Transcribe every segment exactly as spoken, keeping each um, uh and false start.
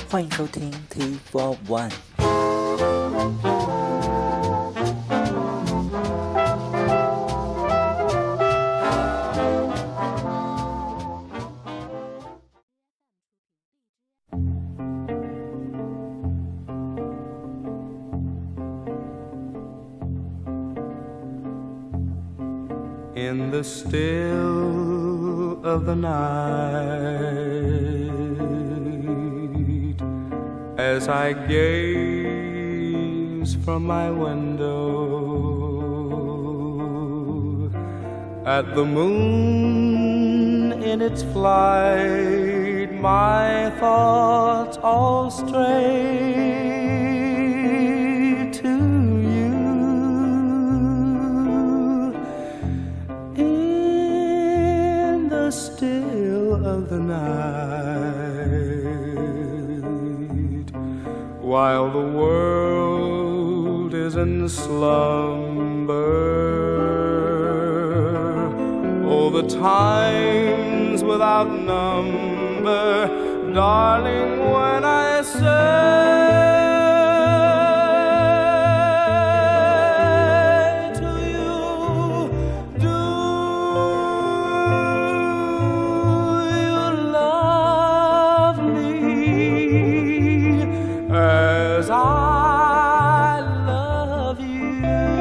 欢迎收听 T four one。 In the still of the night, as I gaze from my window at the moon in its flight, my thoughts all stray to you. In the still of the night, while the world is in slumber, oh, the times without number, darling, when I say to you, do you love me as I love you?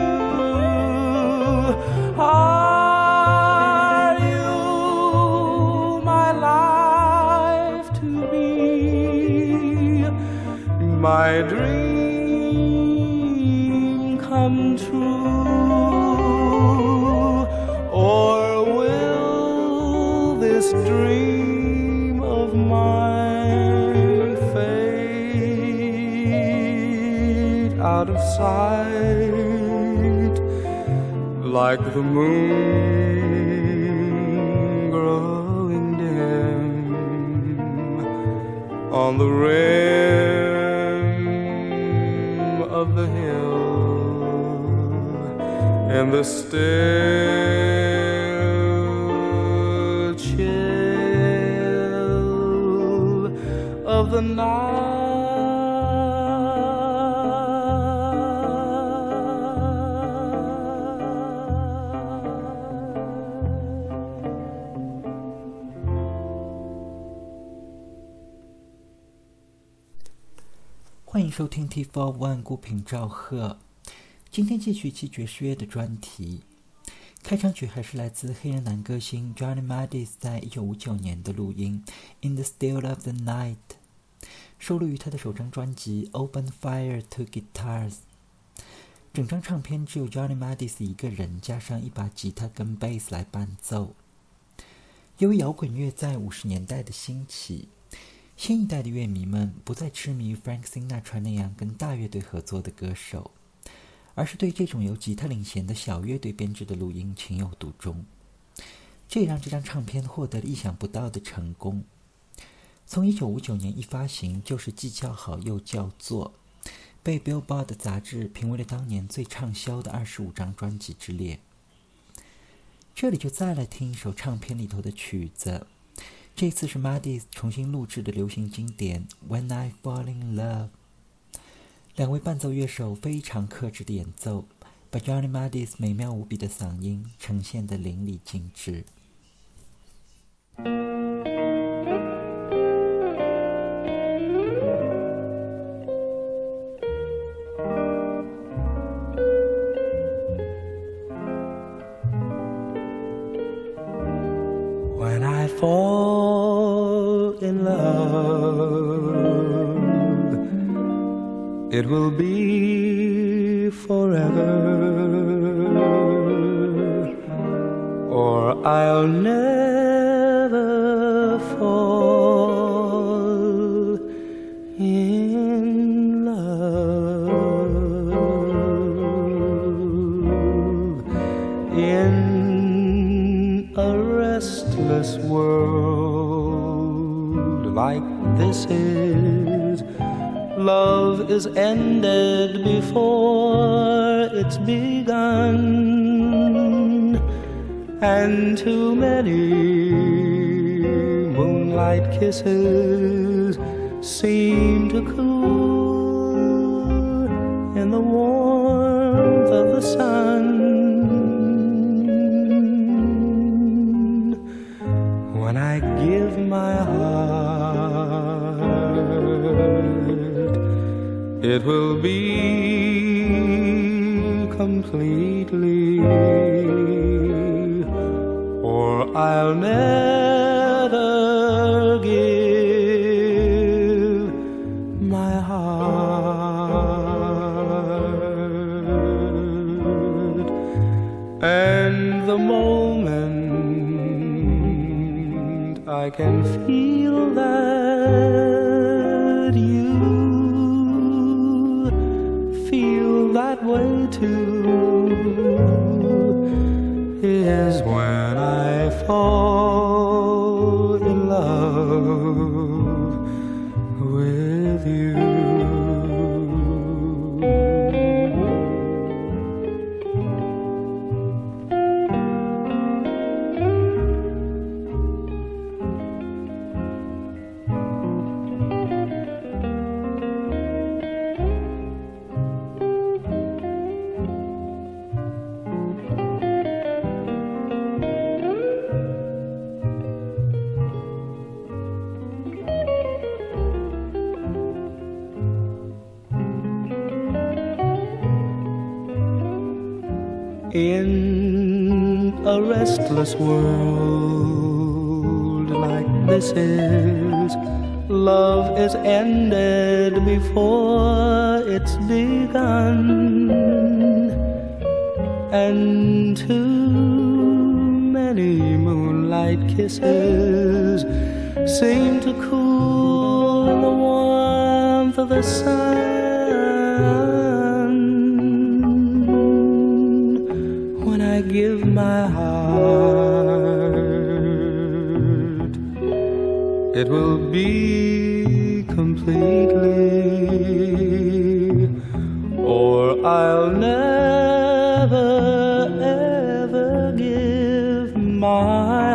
Are you my life to be, my dream come true, or will this dream of mine fade out of sight like the moon growing dim on the rim of the hill, in the still chill of the night. 欢迎收听 T four one 孤品赵贺。今天继续期爵士乐的专题。开场曲还是来自黑人男歌星 Johnny Mathis 在一九五九年的录音 In the Still of the Night， 收录于他的首张专辑 Open Fire Two Guitars。 整张唱片只有 Johnny Mathis 一个人加上一把吉他跟贝斯来伴奏。由于摇滚乐在五十年代的兴起，新一代的乐迷们不再痴迷于 Frank Sinatra 那样跟大乐队合作的歌手，而是对这种由吉他领衔的小乐队编制的录音情有独钟。这也让这张唱片获得了意想不到的成功。从一九五九年一发行就是既叫好又叫座，被 Billboard 杂志评为了当年最畅销的二十五张专辑之列。这里就再来听一首唱片里头的曲子，这次是 Mathis 重新录制的流行经典 When I Fall in Love。 两位伴奏乐手非常克制的演奏，把 Johnny Mathis 美妙无比的嗓音呈现得淋漓尽致。 When I fall in love, it will be forever, or I'll never fall in love. In a restless world like this is, love is ended before it's begun, and too many moonlight kisses seem to cool in the warmth of the sun. When I give my heart, it will be completely, or I'll never give my heart. And the moment I can feel that you feel that way too is when I fall in love with you. In a restless world like this is, love is ended before it's begun, and too many moonlight kisses seem to cool in the warmth of the sun. I give my heart, it will be completely, or I'll never ever give my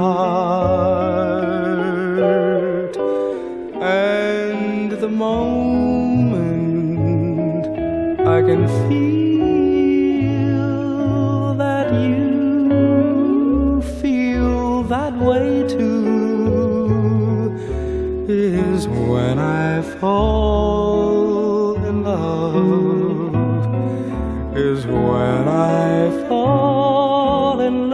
heart. And the moment I can feel that way too is when I fall in love, is when I fall in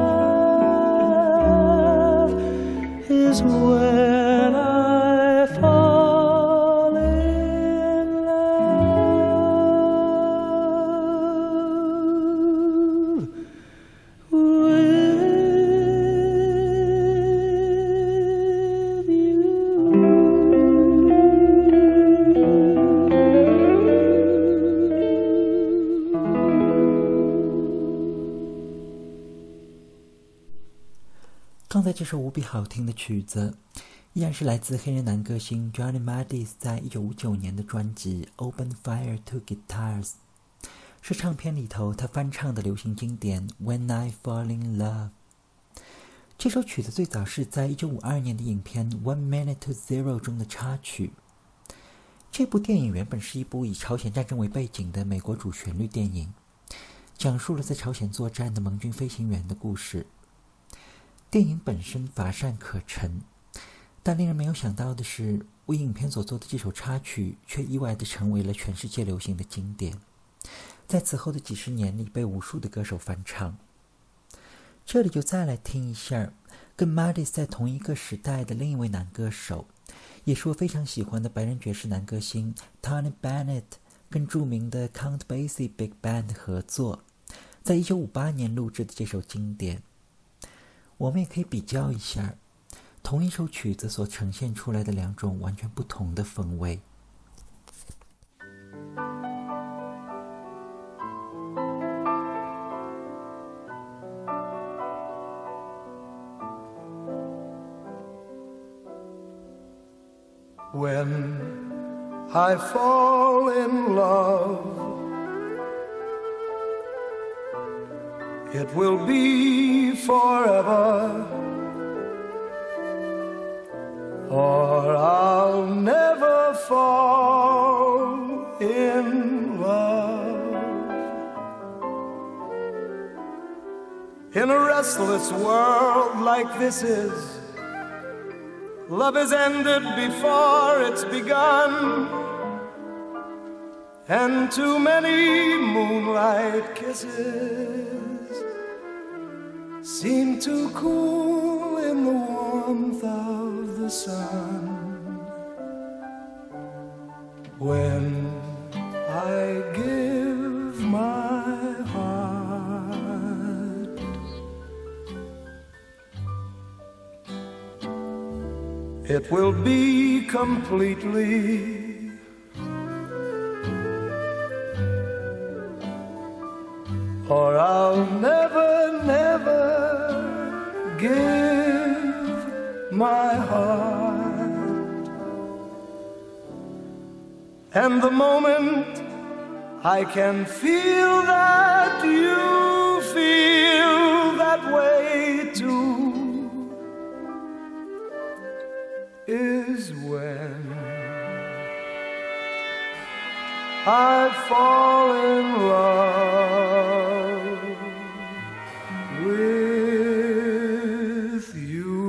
love, is when I fall in love with 刚才这首无比好听的曲子依然是来自黑人男歌星 Johnny Mathis 在一九五九年的专辑 Open Fire Two Guitars， 是唱片里头他翻唱的流行经典 When I Fall in Love。 这首曲子最早是在一九五二年的影片 One Minute to Zero 中的插曲。这部电影原本是一部以朝鲜战争为背景的美国主旋律电影，讲述了在朝鲜作战的盟军飞行员的故事。电影本身乏善可陈，但令人没有想到的是，为影片所做的这首插曲却意外地成为了全世界流行的经典，在此后的几十年里被无数的歌手翻唱。这里就再来听一下跟 Mathis 在同一个时代的另一位男歌手，也是我非常喜欢的白人爵士男歌星 Tony Bennett 跟著名的 Count Basie Big Band 合作，在一九五八年录制的这首经典。我们也可以比较一下同一首曲子所呈现出来的两种完全不同的风味。 When I fall in love, it will be forever, or I'll never In a restless world like this is, love is ended before it's begun, and too many moonlight kisses seem to cool in the warmth of the sun. When I give my heart, it will be completely, or I'll never, never give my heart. And the moment I can feel that you feel that way too is when I fall in love with you.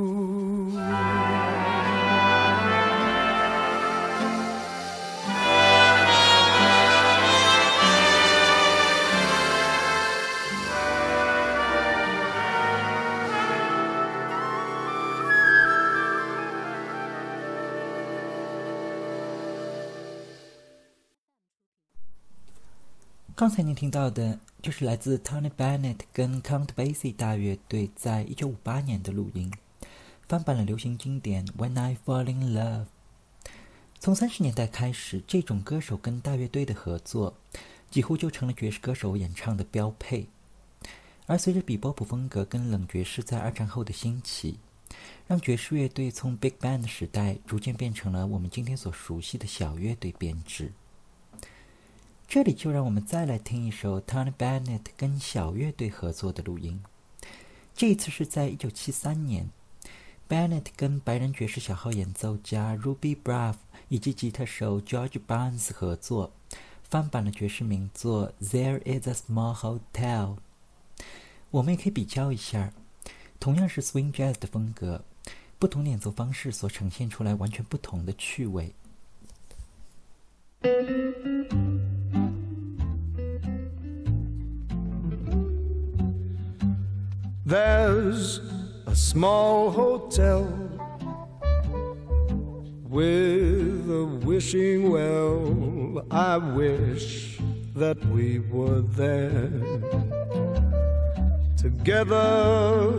刚才您听到的就是来自 Tony Bennett 跟 Count Basie 大乐队在一九五八年的录音，翻版了流行经典 When I Fall in Love。 从三十年代开始，这种歌手跟大乐队的合作几乎就成了爵士歌手演唱的标配。而随着比波普风格跟冷爵士在二战后的兴起，让爵士乐队从 Big Band 的时代逐渐变成了我们今天所熟悉的小乐队编制。这里就让我们再来听一首 Tony Bennett 跟小乐队合作的录音。这一次是在一九七三年， Bennett 跟白人爵士小号演奏家 Ruby Braff 以及吉他手 George Barnes 合作，翻版了爵士名作 There is a Small Hotel。 我们也可以比较一下，同样是 Swing Jazz 的风格，不同演奏方式所呈现出来完全不同的趣味。 There's a small hotel with a wishing well. I wish that we were there together.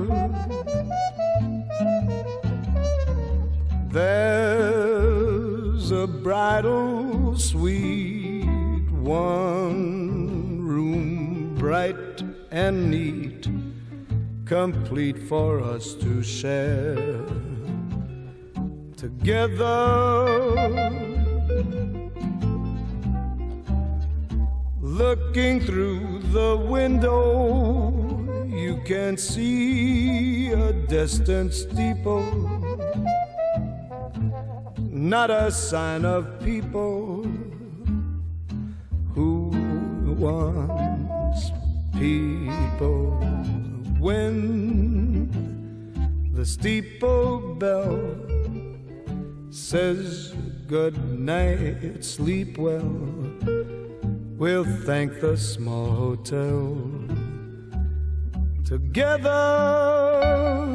There's a bridal suite, one room bright and neat, complete for us to share together. Looking through the window, you can see a distant steeple, not a sign of people who once people. When the steeple bell says good night, sleep well, we'll thank the small hotel together.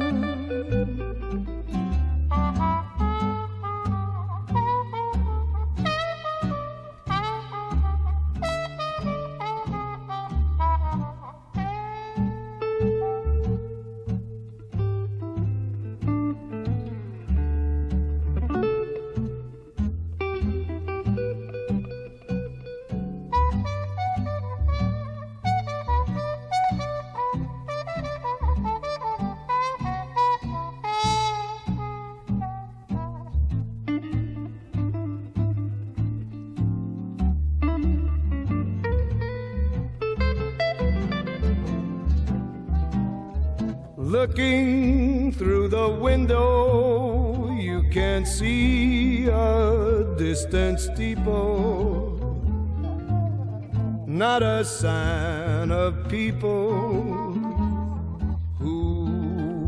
Looking through the window, you can see a distant steeple, not a sign of people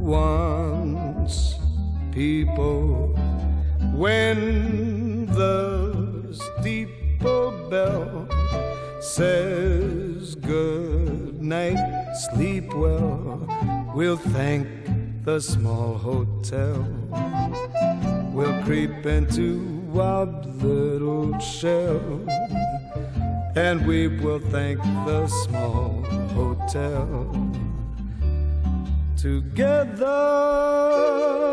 once, people, when the steeple bell says good night, sleep well, we'll thank the small hotel. We'll creep into our little shell, and we will thank the small hotel together.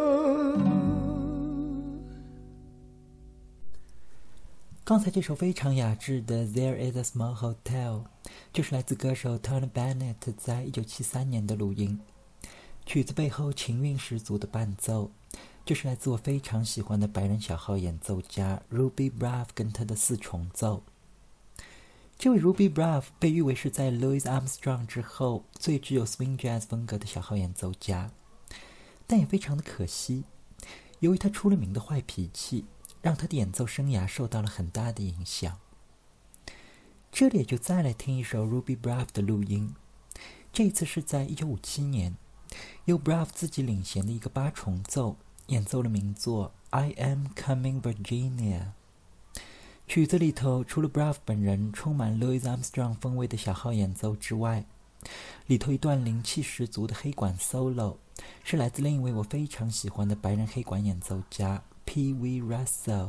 刚才这首非常雅致的 There is a small hotel 就是来自歌手 Tony Bennett 在一九七三年的录音。曲子背后情韵十足的伴奏就是来自我非常喜欢的白人小号演奏家 Ruby Braff 跟他的四重奏。这位 Ruby Braff 被誉为是在 Louis Armstrong 之后最具有 swing jazz 风格的小号演奏家，但也非常的可惜，由于他出了名的坏脾气，让他的演奏生涯受到了很大的影响。这里也就再来听一首 Ruby Braff 的录音，这一次是在一九五七年，由 Braff 自己领衔的一个八重奏演奏了名作 I Am Coming Virginia。 曲子里头除了 Braff 本人充满 Louis Armstrong 风味的小号演奏之外，里头一段灵气十足的黑管 solo 是来自另一位我非常喜欢的白人黑管演奏家 Pee Wee Russell。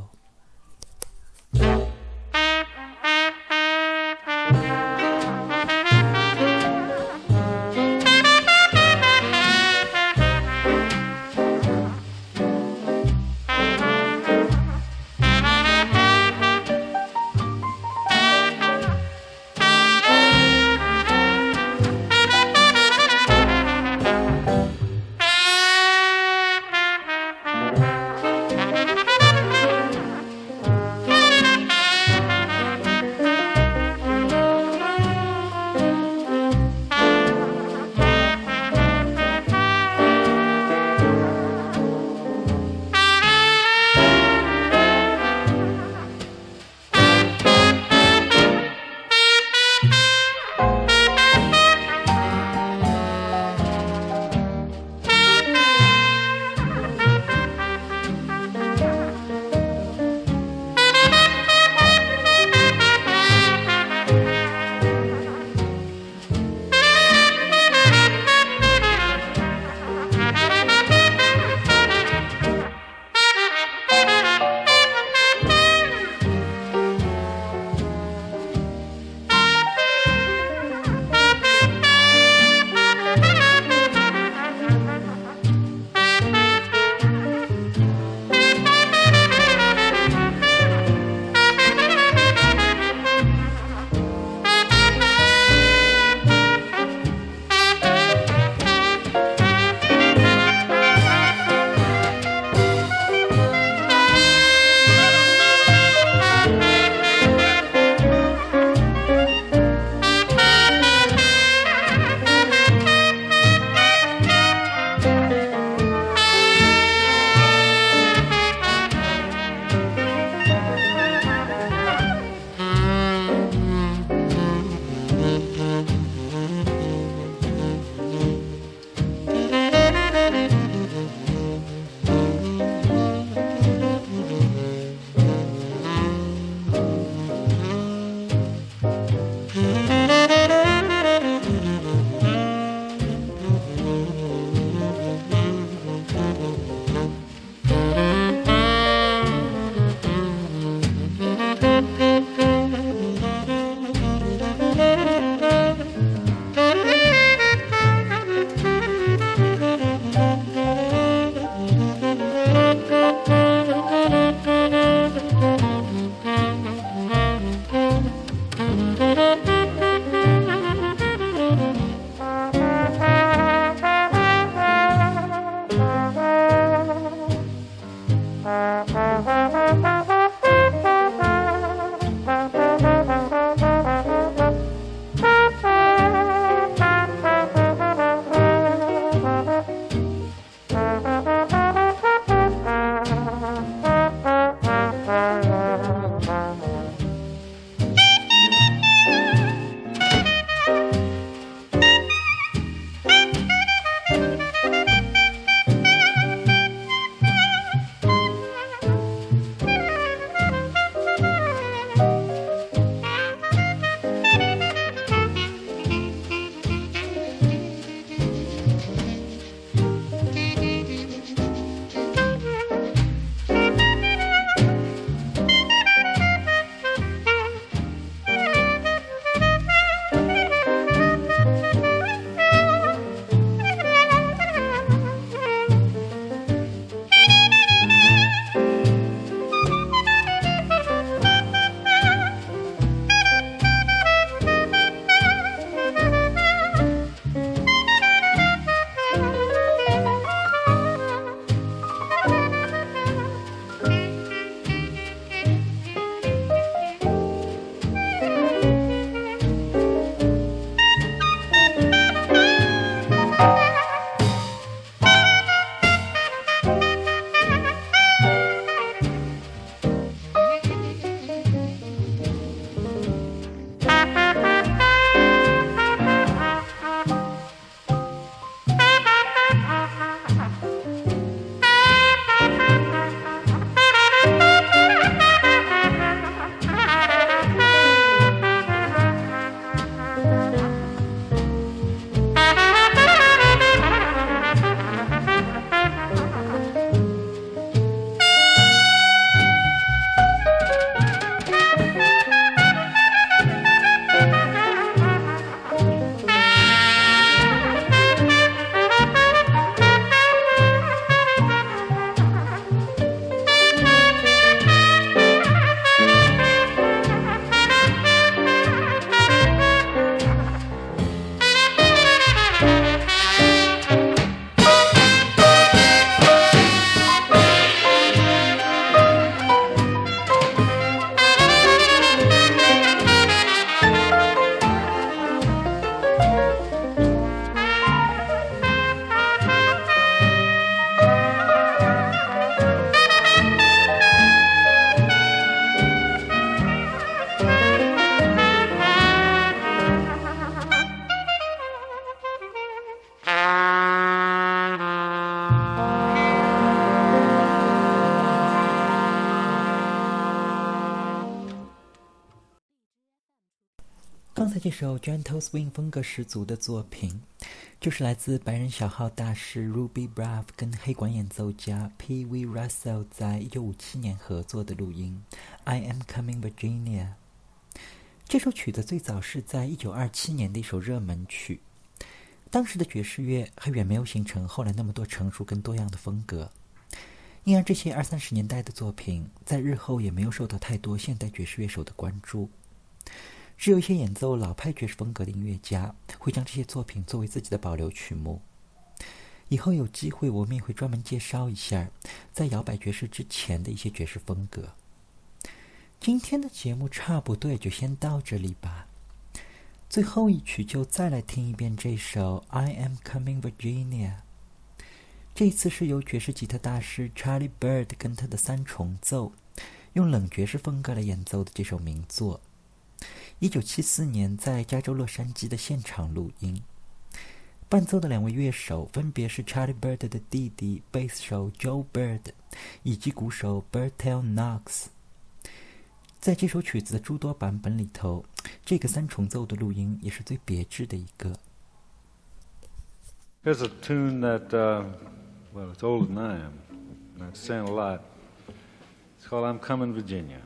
刚才这首 Gentle Swing 风格十足的作品，就是来自白人小号大师 Ruby Braff 跟黑管演奏家 P V Russell 在一九五七年合作的录音 I Am Coming Virginia。 这首曲子最早是在一九二七年的一首热门曲，当时的爵士乐还远没有形成后来那么多成熟跟多样的风格，因而这些二三十年代的作品在日后也没有受到太多现代爵士乐手的关注。只有一些演奏老派爵士风格的音乐家会将这些作品作为自己的保留曲目。以后有机会我们也会专门介绍一下在摇摆爵士之前的一些爵士风格。今天的节目差不多也就先到这里吧，最后一曲就再来听一遍这首 I Am Coming Virginia。 这一次是由爵士吉他大师 Charlie Byrd 跟他的三重奏用冷爵士风格来演奏的这首名作，一九七四年在加州洛杉矶的现场录音。伴奏的两位乐手分别是 Charlie Byrd 的弟弟贝斯手 Joe Byrd 以及鼓手 Bertel Knox。 在这首曲子的诸多版本里头，这个三重奏的录音也是最别致的一个。 Here's a tune that, uh, well, it's older than I am, and it's saying a lot. It's called I'm Coming Virginia.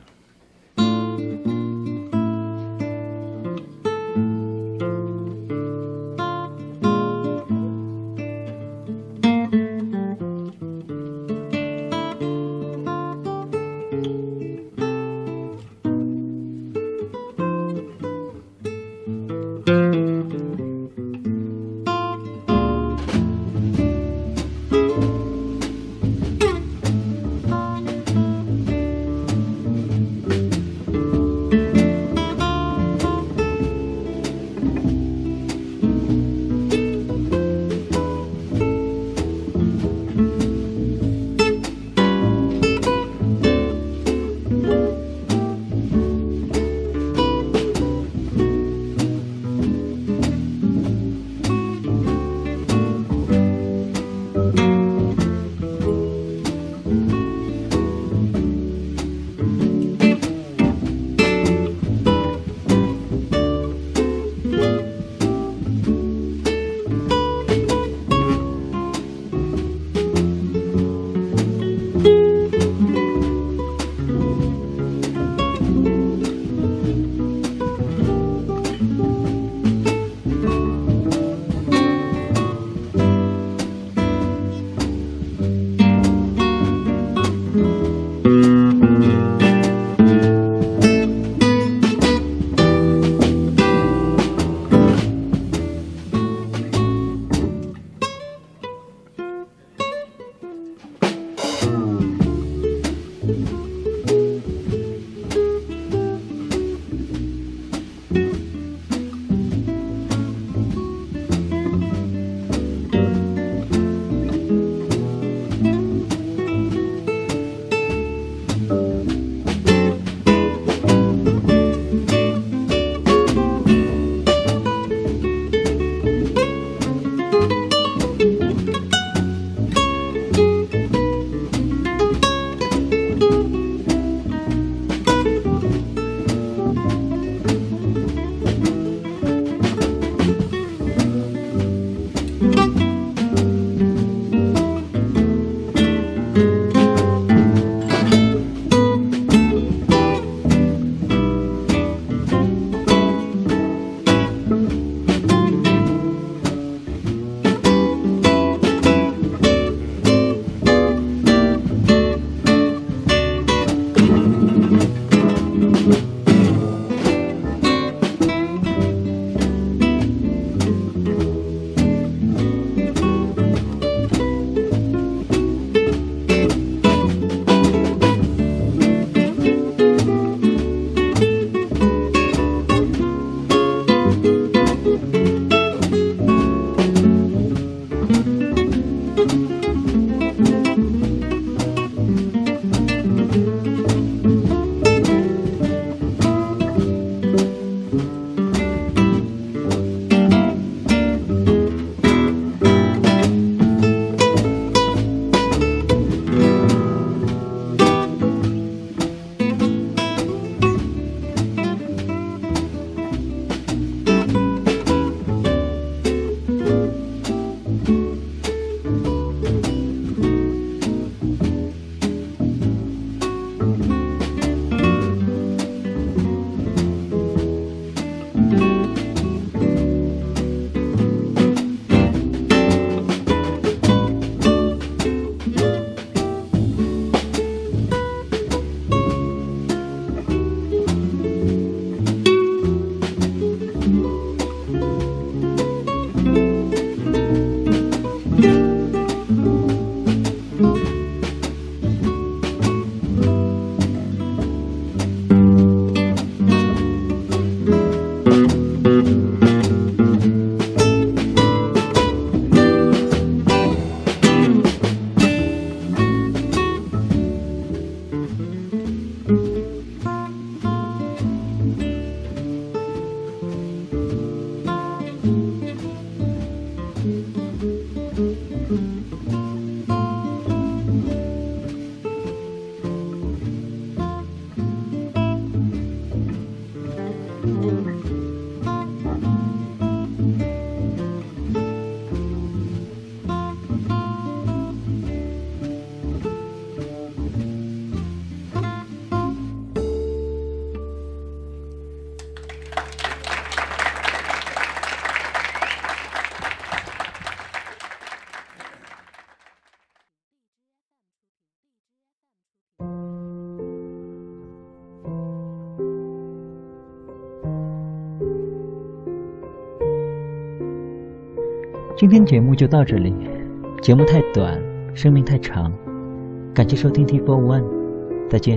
今天节目就到这里，节目太短，生命太长，感谢收听 T 四十一，再见。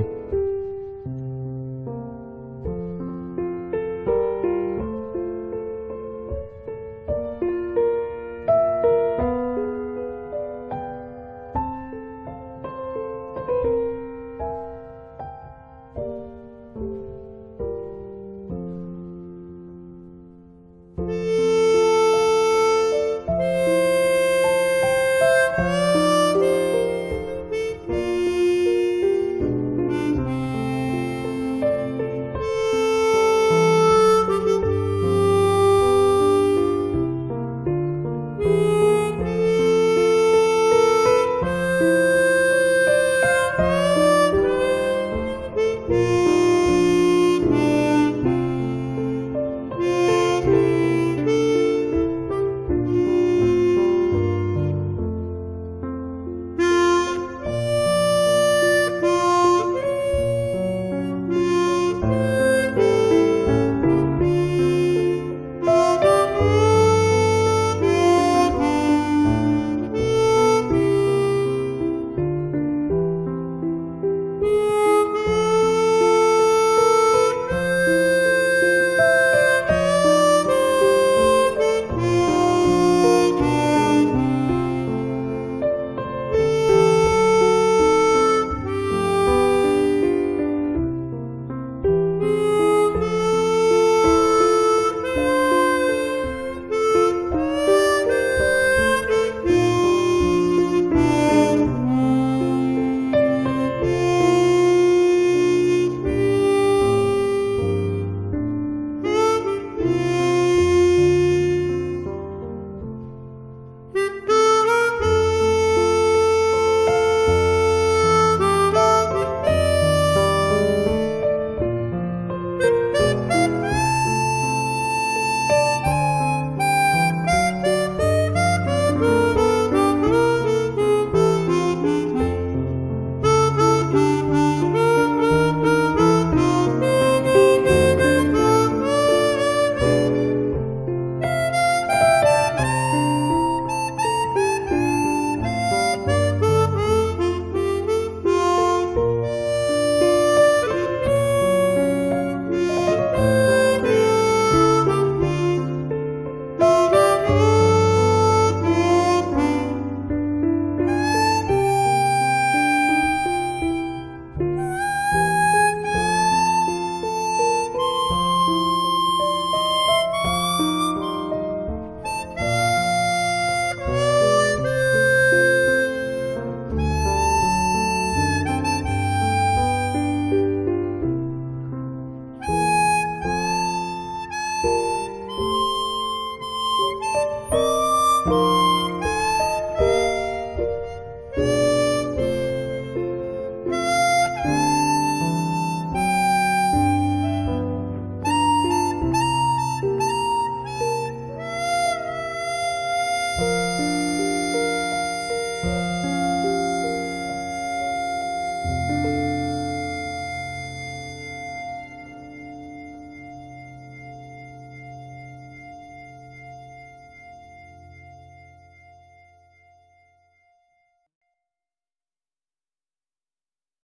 you